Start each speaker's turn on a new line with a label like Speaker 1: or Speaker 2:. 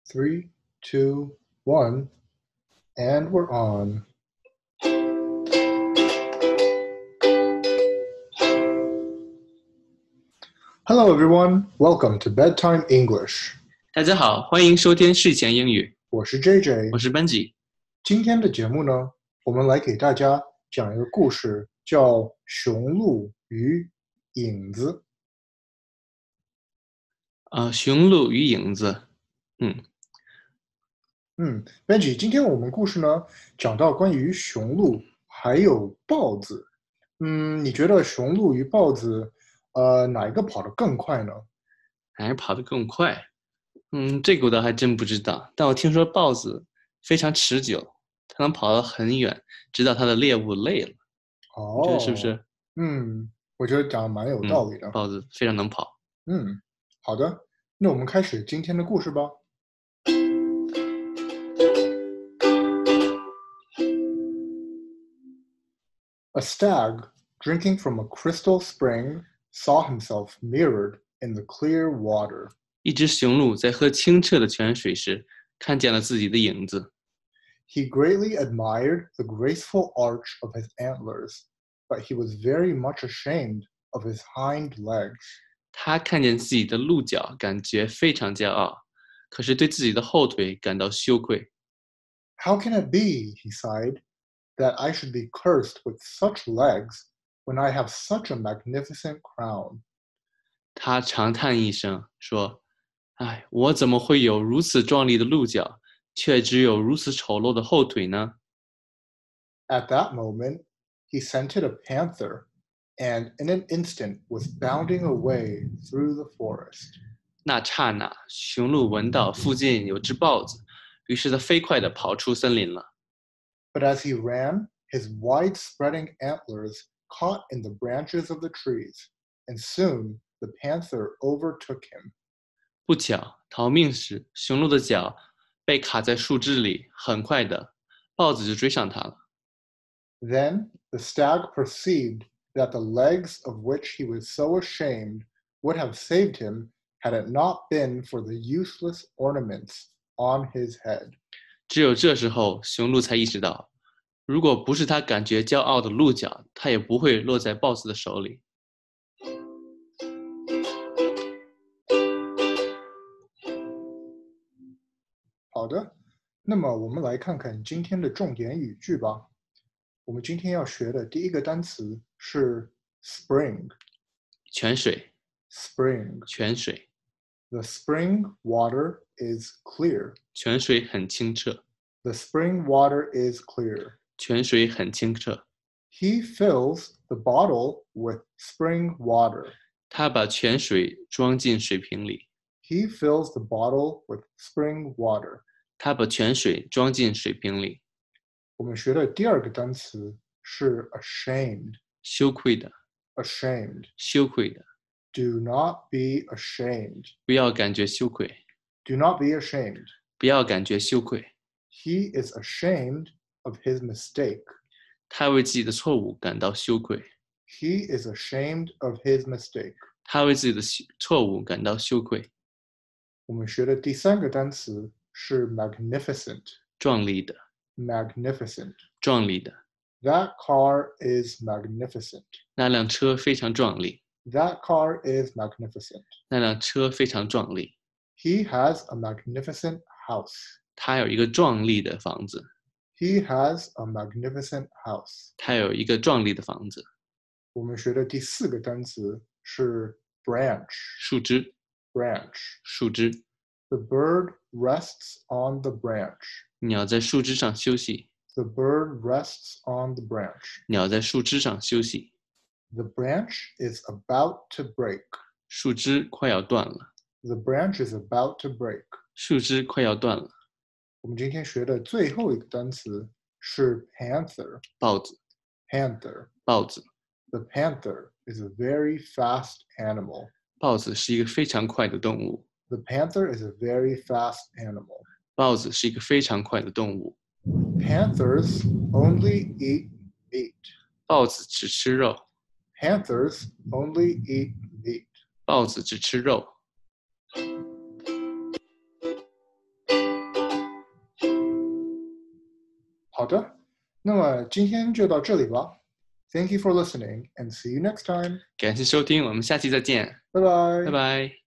Speaker 1: Three, two, one, and we're on. Hello, everyone. Welcome to Bedtime English.
Speaker 2: 大家好，欢迎收听睡前英语，
Speaker 1: 我是 JJ，
Speaker 2: 我是班吉。
Speaker 1: 今天的节目呢，我们来给大家讲一个故事，叫《雄鹿与影子》。
Speaker 2: 雄鹿与影子。
Speaker 1: Benji，今天我们故事呢讲到关于雄鹿还有豹子。你觉得雄鹿与豹子，哪一个跑得更快呢？
Speaker 2: 还是跑得更快？这个我倒还真不知道。但我听说豹子非常持久，它能跑得很远，直到它的猎物累了。你觉得是不是？
Speaker 1: 我觉得讲得蛮有道理的。
Speaker 2: 豹子非常能跑。
Speaker 1: 好的，那我们开始今天的故事吧。A stag, drinking from a crystal spring, saw himself mirrored in the clear water.
Speaker 2: 一只雄鹿在喝清澈的泉水时，看见了自己的影子。
Speaker 1: He greatly admired the graceful arch of his antlers, but he was very much ashamed of his hind legs.
Speaker 2: 他看见自己的鹿角，感觉非常骄傲，可是对自己的后腿感到羞愧。
Speaker 1: How can it be, he sighed, that I should be cursed with such legs when I have such a magnificent crown?
Speaker 2: 他长叹一声，说：“哎，我怎么会有如此壮丽的鹿角，却只有如此丑陋的后腿呢？”
Speaker 1: At that moment, he scented a panther, and in an instant was bounding away through the forest.
Speaker 2: 那刹那，雄鹿闻到附近有只豹子，于是他飞快地跑出森林了。
Speaker 1: But as he ran, his wide-spreading antlers caught in the branches of the trees, and soon the panther overtook him.
Speaker 2: 不巧，逃命时，雄鹿的脚被卡在树枝里，很快的，豹子就追上它了。
Speaker 1: Then the stag perceived that the legs of which he was so ashamed would have saved him had it not been for the useless ornaments on his head.
Speaker 2: 只有这时候，雄鹿才意识到，如果不是他感觉骄傲的鹿角，他也不会落在豹子的手里。
Speaker 1: 好的，那么我们来看看今天的重点语句吧。我们今天要学的第一个单词是 spring。
Speaker 2: 泉水。
Speaker 1: Spring。
Speaker 2: 泉水。
Speaker 1: The spring water is clear.
Speaker 2: 泉水很清澈。
Speaker 1: The spring water is clear.
Speaker 2: 泉水很清澈。
Speaker 1: He fills the bottle with spring water.
Speaker 2: 他把泉水装进水瓶里。
Speaker 1: He fills the bottle with spring water.
Speaker 2: 他把泉水装进水瓶里。
Speaker 1: 我们学的第二个单词是 ashamed.
Speaker 2: 羞愧的。
Speaker 1: Ashamed.
Speaker 2: 羞愧的。
Speaker 1: Do not be ashamed.
Speaker 2: 不要感觉羞愧。
Speaker 1: Do not be ashamed.
Speaker 2: 不要感觉羞愧。
Speaker 1: He is ashamed of his mistake.
Speaker 2: 他为自己的错误感到羞愧。
Speaker 1: He is ashamed of his mistake.
Speaker 2: 他为自己的错误感到羞愧。
Speaker 1: 我们学的第三个单词是 magnificent.
Speaker 2: 壮丽的。
Speaker 1: Magnificent.
Speaker 2: 壮丽的。
Speaker 1: That car is magnificent.
Speaker 2: 那辆车非常壮丽。
Speaker 1: That car is magnificent.
Speaker 2: 那辆车非常壮丽。
Speaker 1: He has a magnificent house.
Speaker 2: 他有一个壮丽的房子。
Speaker 1: He has a magnificent house.
Speaker 2: 他有一个壮丽的房子。
Speaker 1: 我们学的第四个单词是 branch.
Speaker 2: 树枝。
Speaker 1: Branch.
Speaker 2: 树枝。
Speaker 1: The bird rests on the branch.
Speaker 2: 鸟在树枝上休息。
Speaker 1: The bird rests on the branch.
Speaker 2: 鸟在树枝上休息。
Speaker 1: The branch is about to break.
Speaker 2: 树枝快要断了。
Speaker 1: The branch is about to break.
Speaker 2: 树枝快要断了。
Speaker 1: 我们今天学的最后一个单词是 panther.
Speaker 2: 豹子。
Speaker 1: Panther.
Speaker 2: 豹子。
Speaker 1: The panther is a very fast animal.
Speaker 2: 豹子是一个非常快的动物。
Speaker 1: The panther is a very fast animal.
Speaker 2: 豹子是一个非常快的动物。
Speaker 1: Panthers only eat meat.
Speaker 2: 豹子只吃肉。
Speaker 1: Panthers only eat meat.
Speaker 2: 豹子只吃肉。
Speaker 1: 好的，那么今天就到这里吧。Thank you for listening and see you next time.
Speaker 2: 感谢收听，我们下期再见，
Speaker 1: 拜拜。
Speaker 2: 拜拜。